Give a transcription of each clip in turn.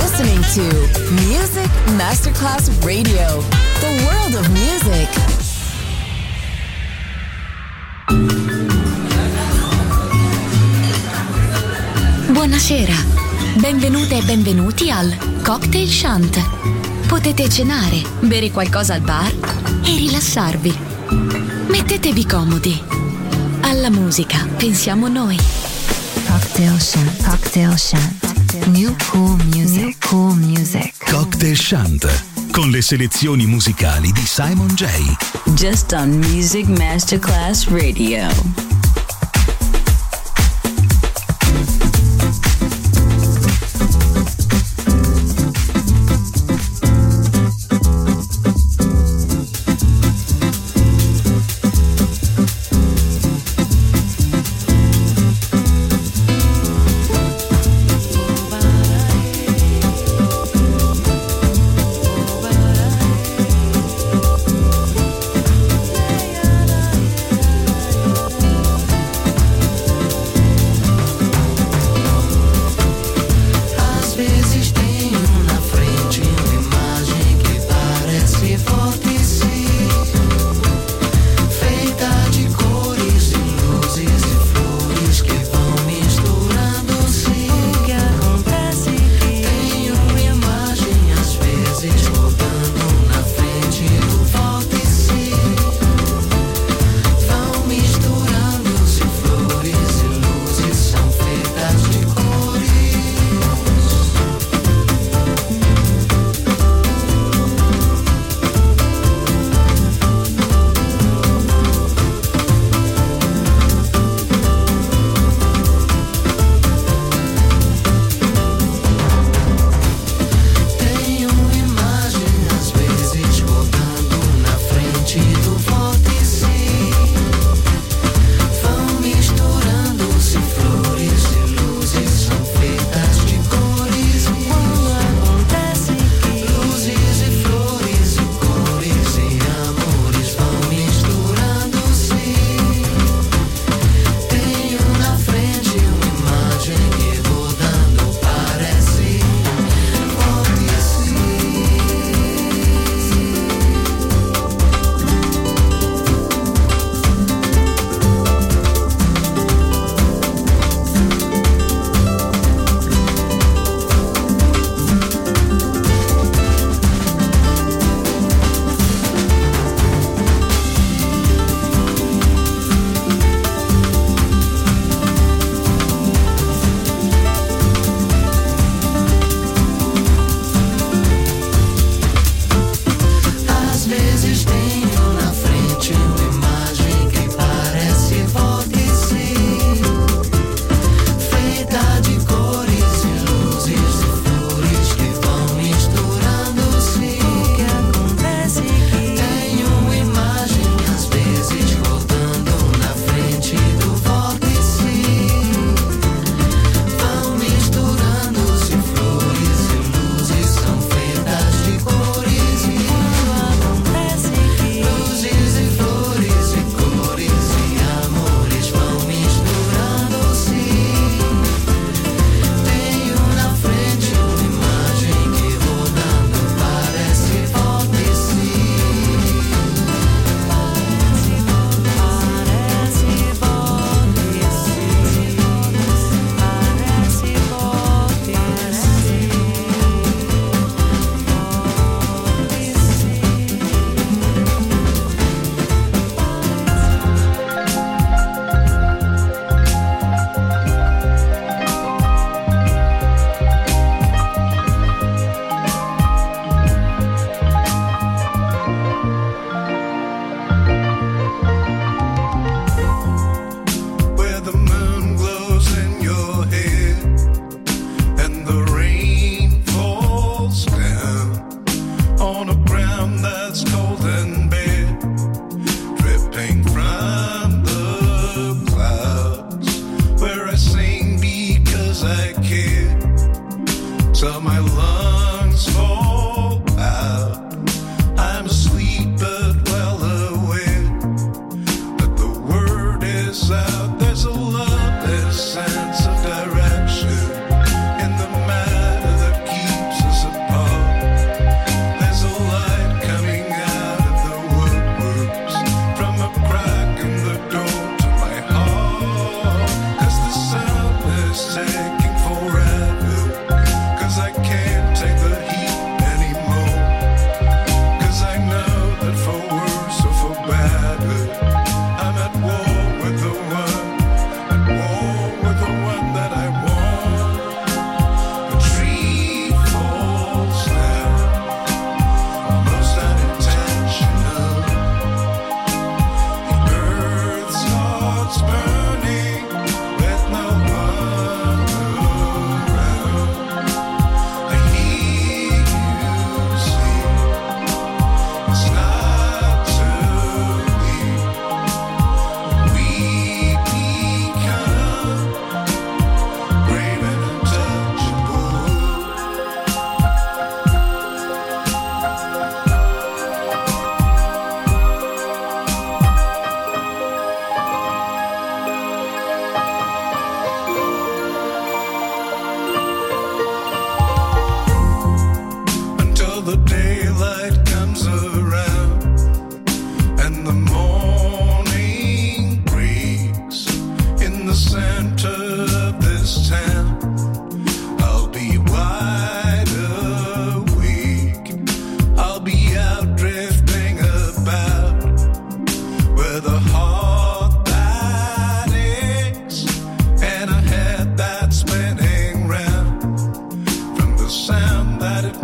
listening to Music Masterclass Radio, the world of music. Buonasera, benvenute e benvenuti al Cocktail Shant. Potete cenare, bere qualcosa al bar e rilassarvi. Mettetevi comodi. Alla musica pensiamo noi. Cocktail Shant. Cocktail Shant. New cool music. New cool music. Cocktail Shant, con le selezioni musicali di Simon J. Just on Music Masterclass Radio.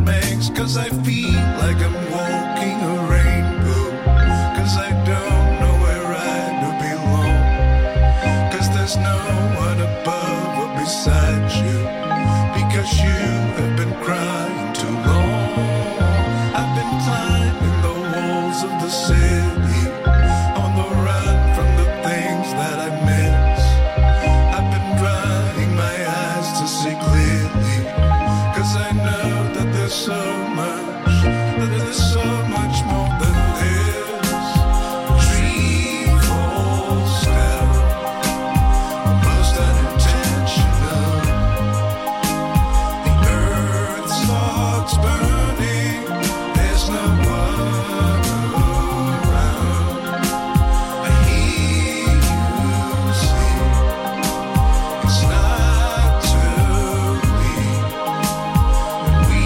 makes, 'cause I feel like I'm walking a rainbow, 'cause I don't know where I do belong, 'cause there's no one above or beside you, because you have been crying too long. I've been climbing the walls of the city, on the run from the things that I miss. I've been drying my eyes to see clearly, 'cause I know that there's so much more than this. A tree falls down, almost unintentional. The earth starts burning, there's no one around. I hear you sing, it's not too late. We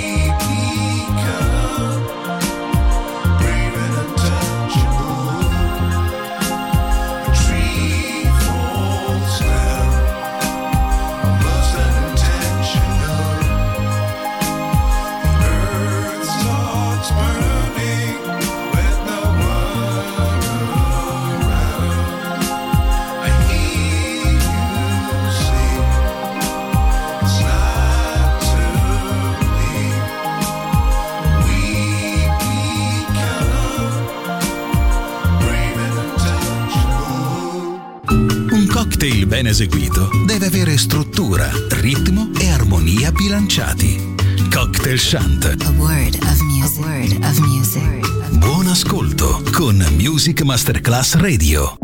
become brave and untouchable. A tree falls down, almost unintentional. The earth starts burning with no one around. I hear you sing, it's not too late. We become brave and untouchable. Un cocktail ben eseguito deve avere struttura, ritmo e armonia bilanciati. Cocktail Shant. A word of music. A word of music. Buon ascolto con Music Masterclass Radio.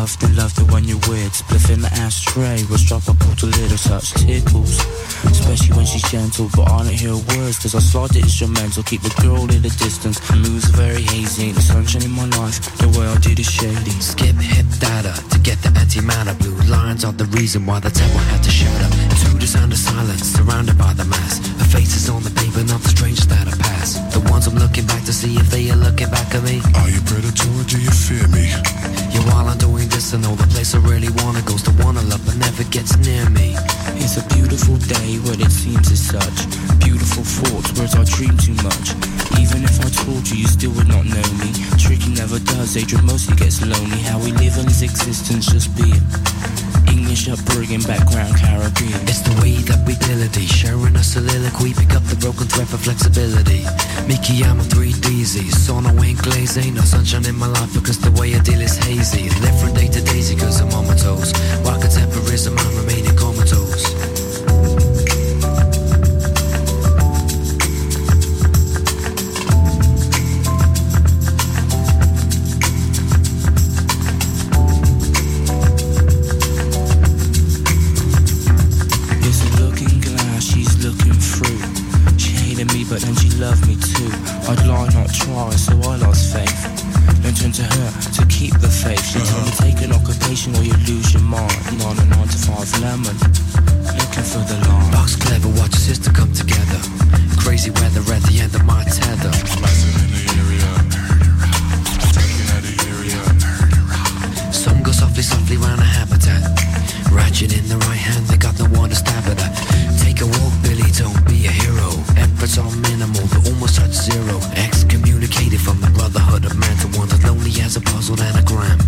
loved it when you're weird. Spliff in the ashtray, was drop a pull to little touch tickles. Especially when she's gentle, but I don't hear words, cause I slide the instrumental, keep the girl in the distance. Moves very hazy, ain't the sunshine in my life, the way I did is shady. Skip hip data to get the antimatter. Blue lines are the reason why the temple had to shatter. To the sound of silence, surrounded by the mass. Her face is on the paper, not the strangers that I pass. The ones I'm looking back to see if they are looking back at me. Are you predator or do you fear me? Yeah, while I'm doing this, I know the place I really wanna goes to wanna love, but never gets near me. It's a beautiful day, what it seems is such. Beautiful thoughts, words I dream too much. Even if I told you, you still would not know me. Tricky never does, Adrian mostly gets lonely. How we live in his existence, just being English upbringing, background Caribbean. It's the way that we melody, sharing a soliloquy. Pick up the broken thread for flexibility. Mickey, I'm a 3DZ, sono ain't glaze, ain't no sunshine in my life because the way I deal is hazy. Live from day to daisy cause I'm on my toes. While contemporism, I'm remaining comatose. But then she loved me too. I'd lie, not try, so I lost faith. Then turned to her to keep the faith. She told me take an occupation or you lose your mind. Not a 9 to 5 lemon, looking for the line. Box clever, watch your sister come together. Crazy weather at the end of my tether. Blasting in the area, taking out the area. Some go softly, softly round a habitat. Ratchet in the right hand, they got no one to stab at her. Take a walk, Billy, don't be a hero. Efforts are minimal, they almost touch zero. Excommunicated from the brotherhood of man to one as lonely as a puzzled anagram.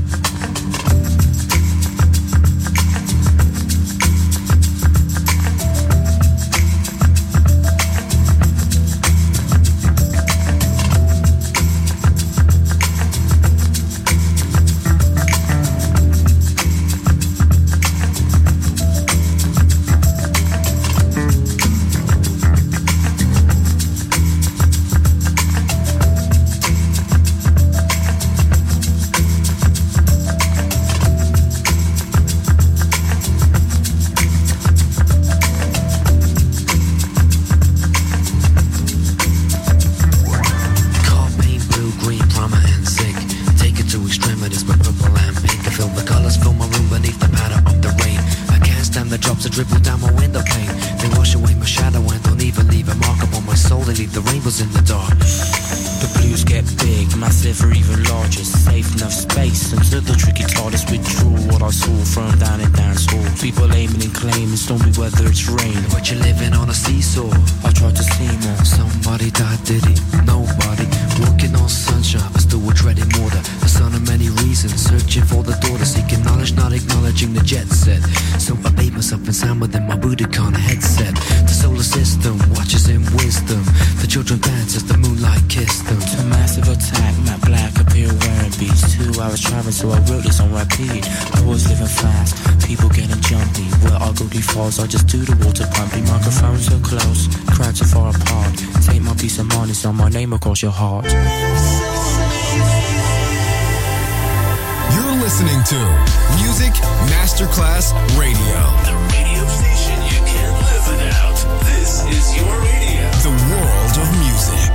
I just do the water pumping, microphones so close, crowds so far apart. Take my peace of mind, it's on my name across your heart. You're listening to Music Masterclass Radio. The radio station you can't live without. This is your radio. The world of music.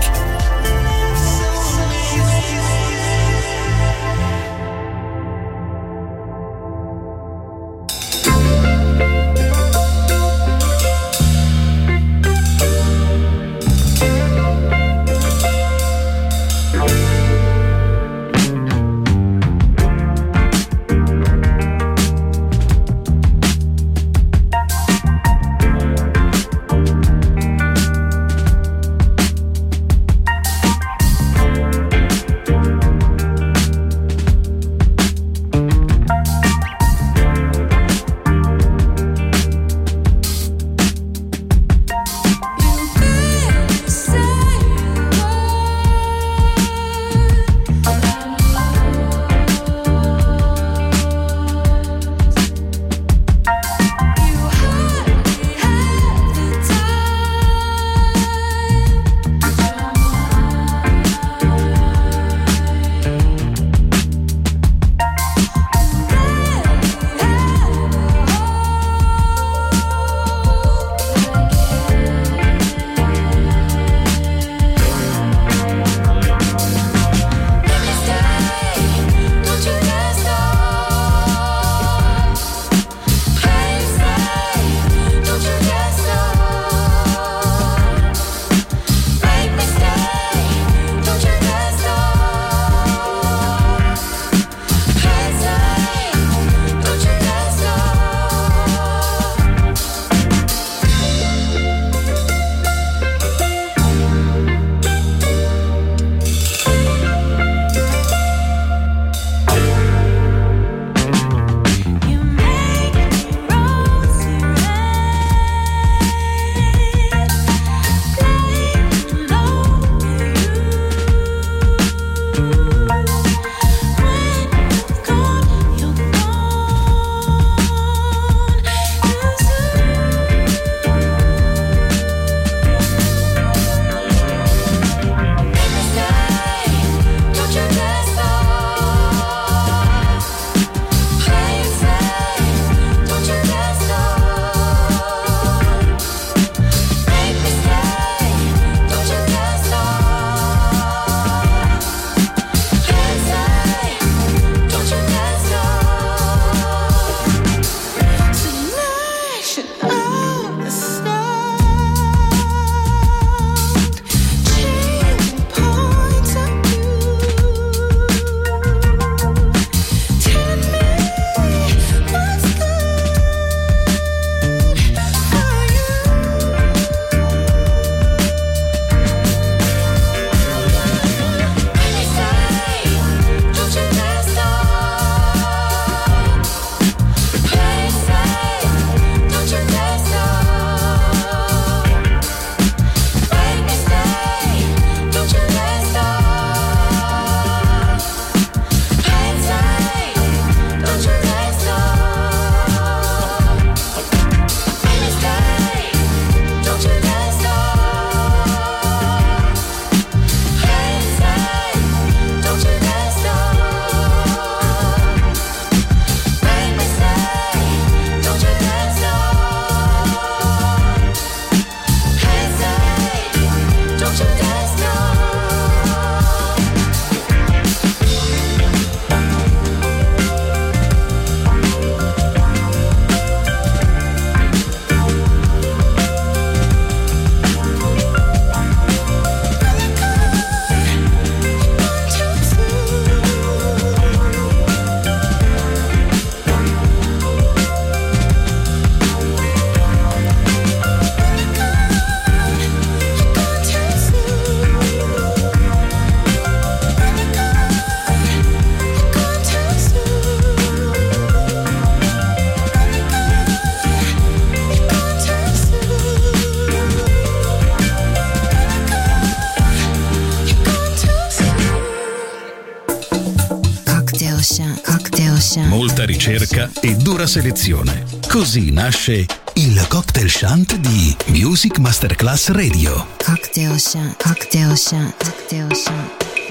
Cocktail Chant. Cocktail Chant. Molta ricerca e dura selezione. Così nasce il Cocktail Chant di Music Masterclass Radio. Cocktail Chant. Cocktail Chant. Cocktail Chant.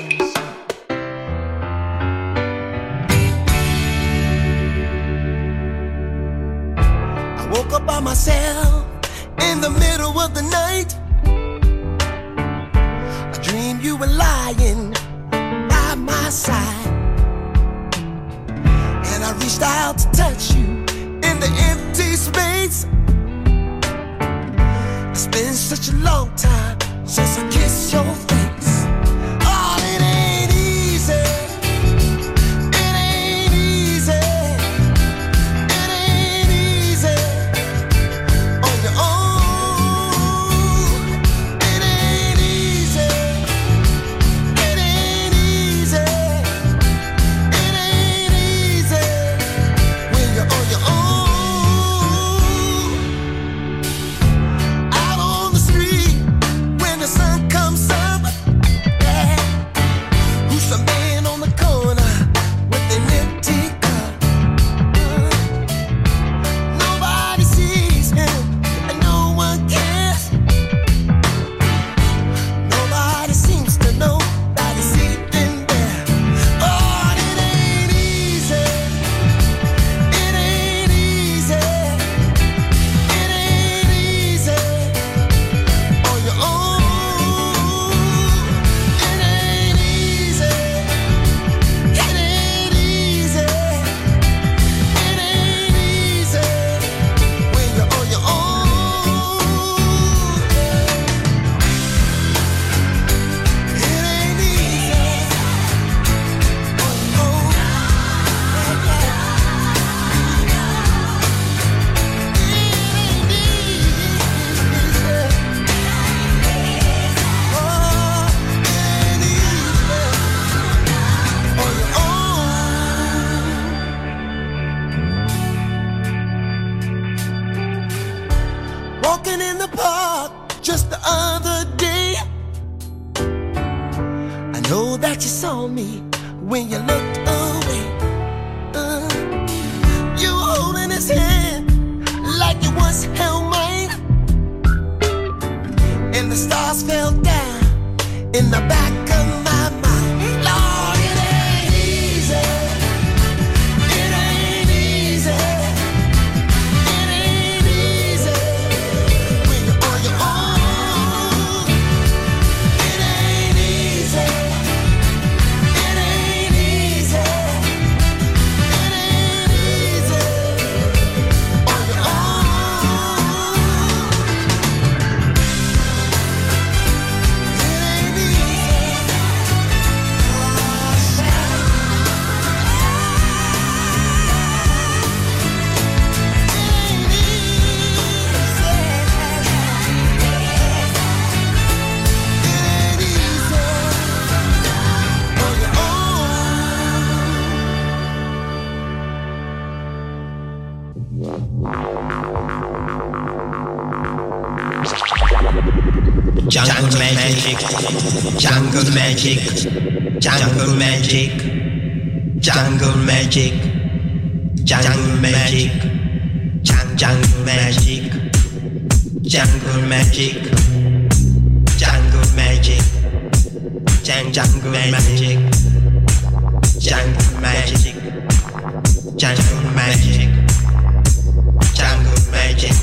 I woke up by myself in the middle of the night. I dreamed you were lying by my side, and I reached out to touch you in the empty space. It's been such a long time since I kissed your face. Oh, it ain't easy. It ain't easy. It ain't easy on your own. It ain't easy. It ain't easy. It ain't easy when you're on your own. Out on the street when the sun comes up, yeah. Who's the man on the corner with an empty cup? Nobody sees him and no one cares. Nobody seems to know that he's sleeping there. Oh, it ain't easy. It ain't easy. It ain't easy on your own. It ain't easy. It ain't easy. It ain't easy when you're on your own. It ain't easy on your own. Walking in the park just the other day, I know that you saw me when you looked away. You were holding his hand like you once held mine, and the stars fell down in the back of my mind. Lord, it ain't easy. It ain't easy. It ain't easy when you're on your own. It ain't easy. It ain't easy. It ain't easy on your own. It ain't Jungle magic, jungle magic, jungle magic, jungle magic, jungle magic, jungle magic, jungle magic, jungle magic, jungle magic, jungle magic, jungle magic, jungle magic.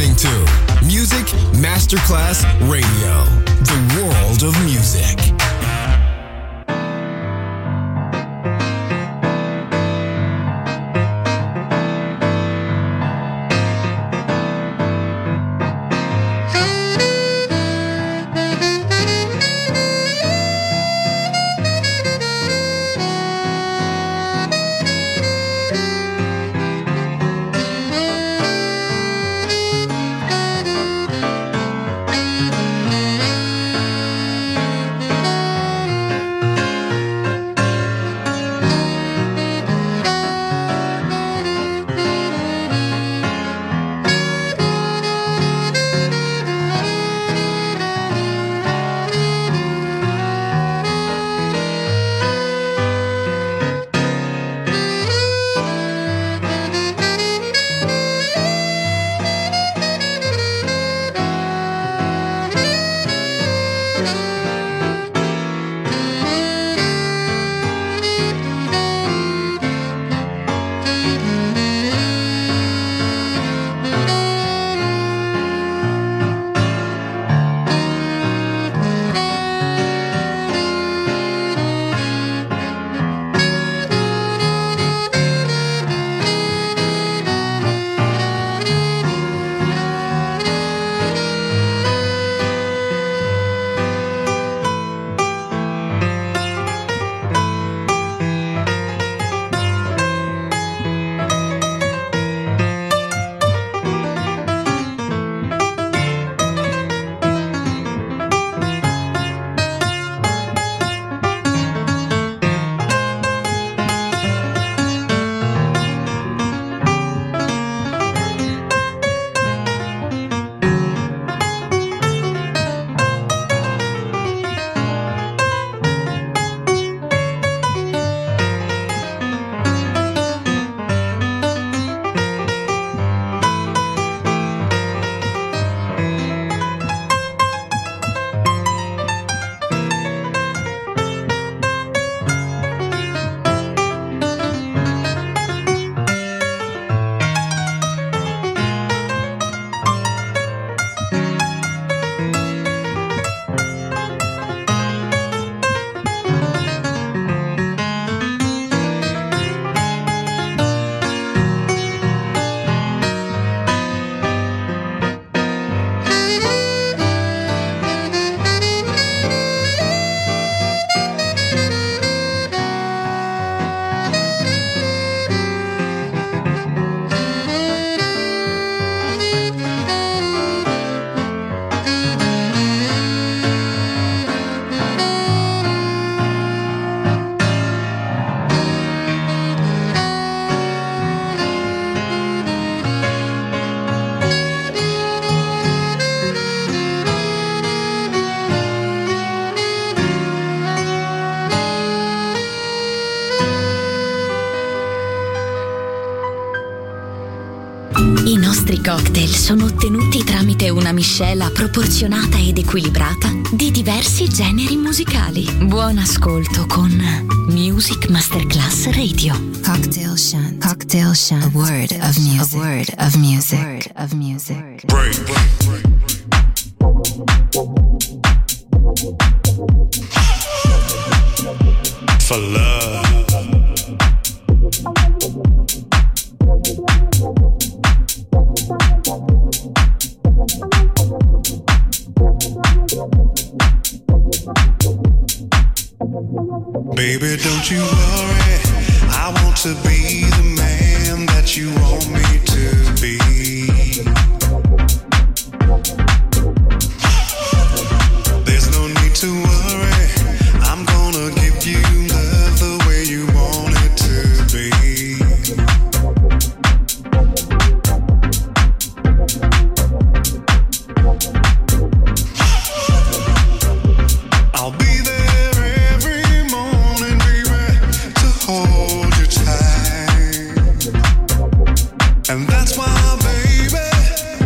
listening to Music Masterclass Radio, the world of music. I nostri cocktail sono ottenuti tramite una miscela proporzionata ed equilibrata di diversi generi musicali. Buon ascolto con Music Masterclass Radio. Cocktail Shant. Cocktail Shant. A word of music. A word of music. A word of music. Break. For love. Baby, don't you worry, I want to be the man that you want me to be. There's no need to worry, I'm gonna give you love the way you want it to be. I'll be there every morning, baby, to hold you tight. And that's why, baby,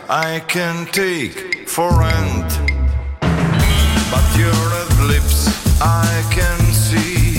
I can take for rent. But your red lips I can see.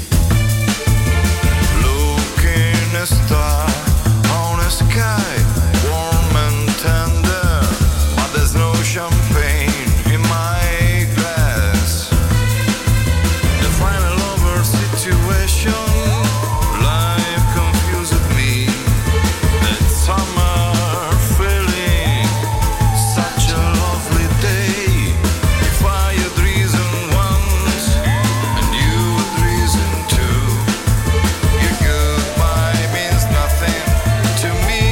Looking a star on a sky warm and tender, but there's no champagne in my glass. The final over situation, life confused me. That summer feeling, such a lovely day. If I had reason once, and you had reason too, your goodbye means nothing to me.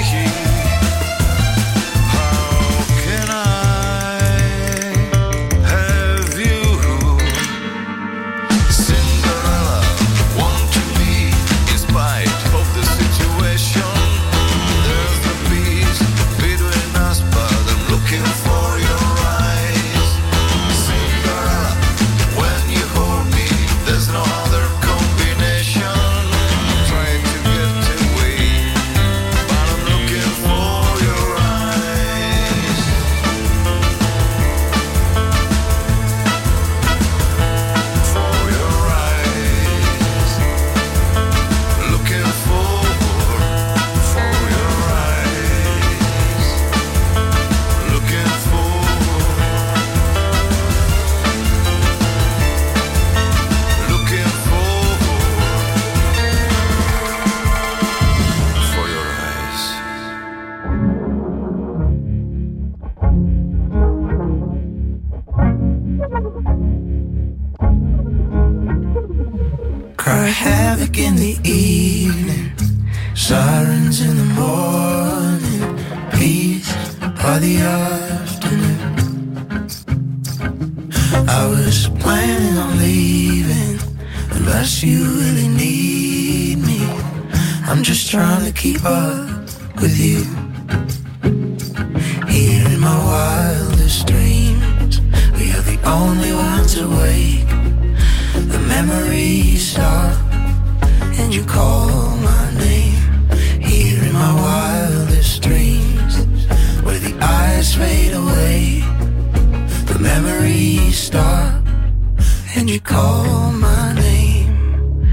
How can I have you? Cinderella, want to be in spite of the situation. There's a peace between us, but I'm looking for your eyes. Cinderella, when you hold me, there's no other combination. Trying to get away, but I'm looking for your eyes. For your eyes. Looking for your eyes. Looking for your eyes. Cry havoc in the evening, sirens in the morning, peace by the afternoon. I was planning on leaving, unless you really need me. I'm just trying to keep up with you. Here in my wildest dreams, we are the only ones awake. The memories stop, and you call my name. Here in my wildest dreams, where the eyes fade away. The memories stop, and you call my name.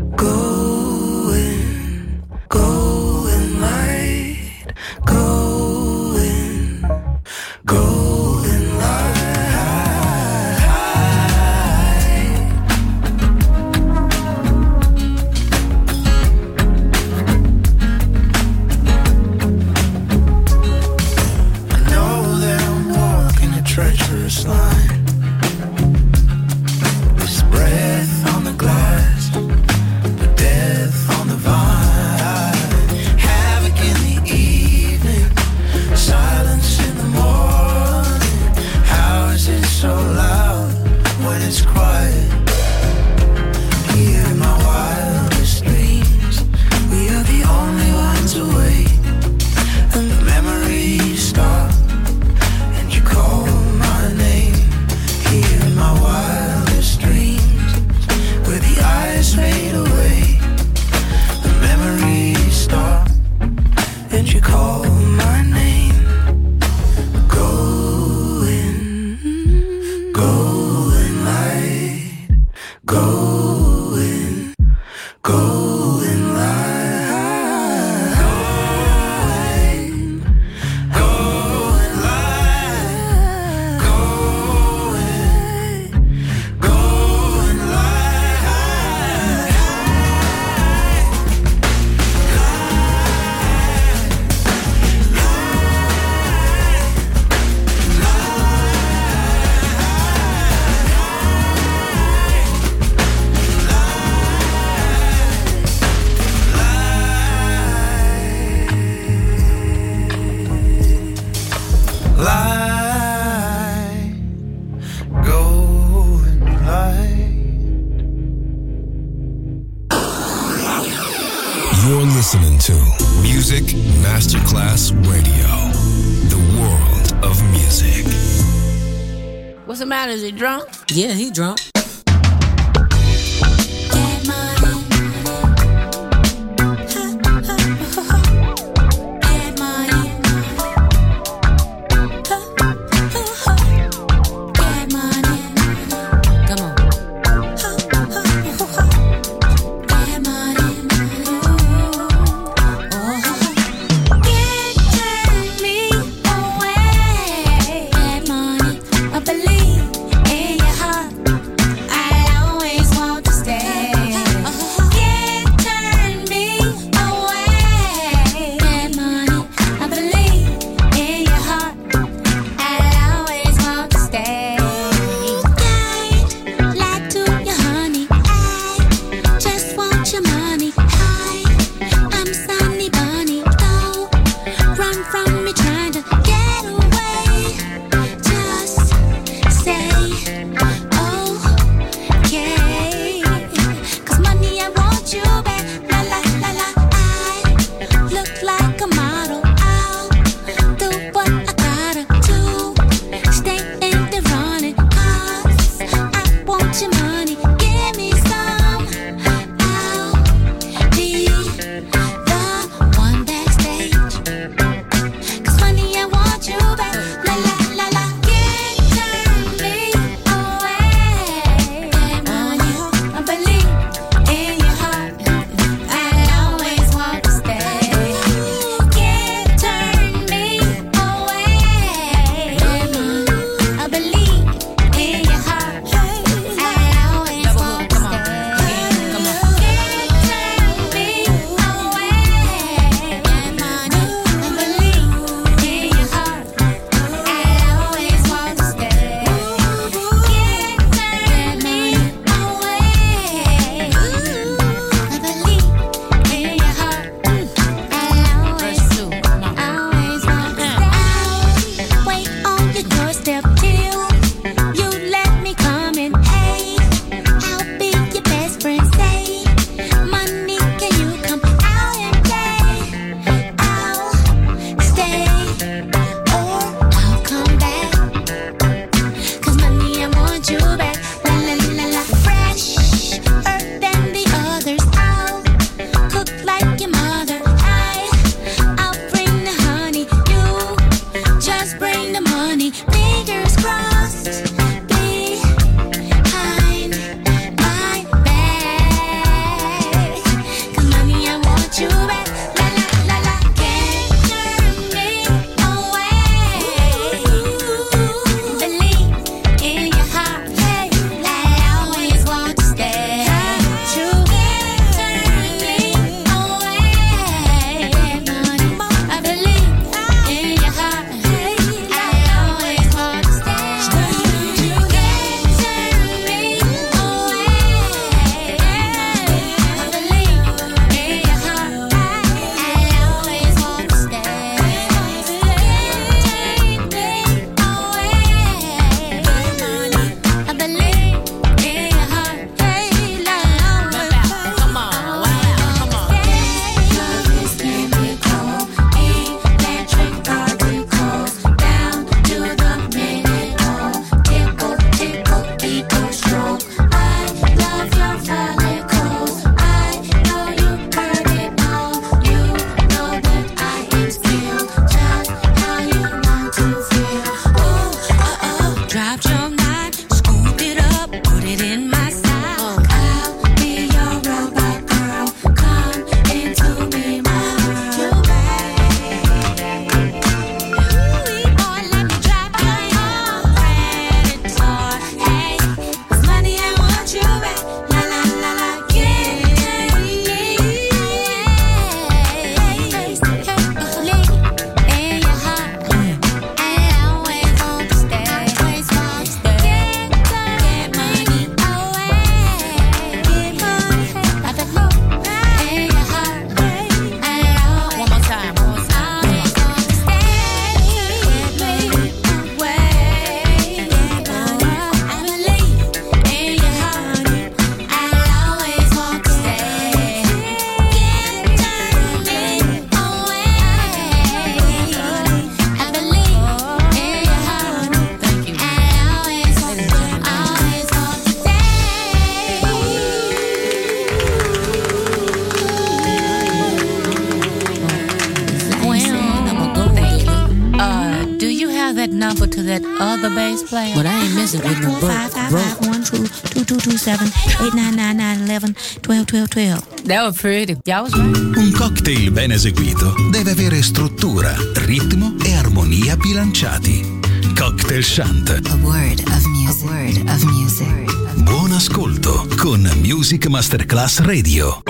Going, going light, going, going light. I know that I'm walking a treacherous line. This breath on the glass, but death on the vine. Havoc in the evening, silence in the morning. How is it so loud when it's quiet? Here in my wildest dreams, we are the only ones awake. And the memories stop, and you call my name. Here in my wildest dreams, where the eyes fade away. The memories stop, and you call my name. Going, going light, going, going light, going, going light, going, going light. Light, going light. You're listening to Music Masterclass Radio, the world of music. What's the matter? Is he drunk? Yeah, he drunk. that other bass player. But I ain't messing with no broke. 555-122-2278-8999-11-12-12-12. That was pretty. Y'all was right. Un cocktail ben eseguito deve avere struttura, ritmo e armonia bilanciati. Cocktail Shant. A word of music. A word of music. Buon ascolto con Music Masterclass Radio.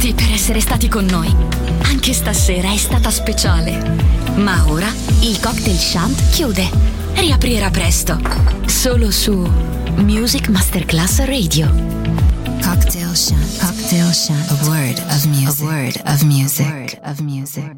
tutti per essere stati con noi. Anche stasera è stata speciale. Ma ora il Cocktail Shant chiude. Riaprirà presto. Solo su Music Masterclass Radio. Cocktail Shant. Cocktail Shant. A word of music. A word of music.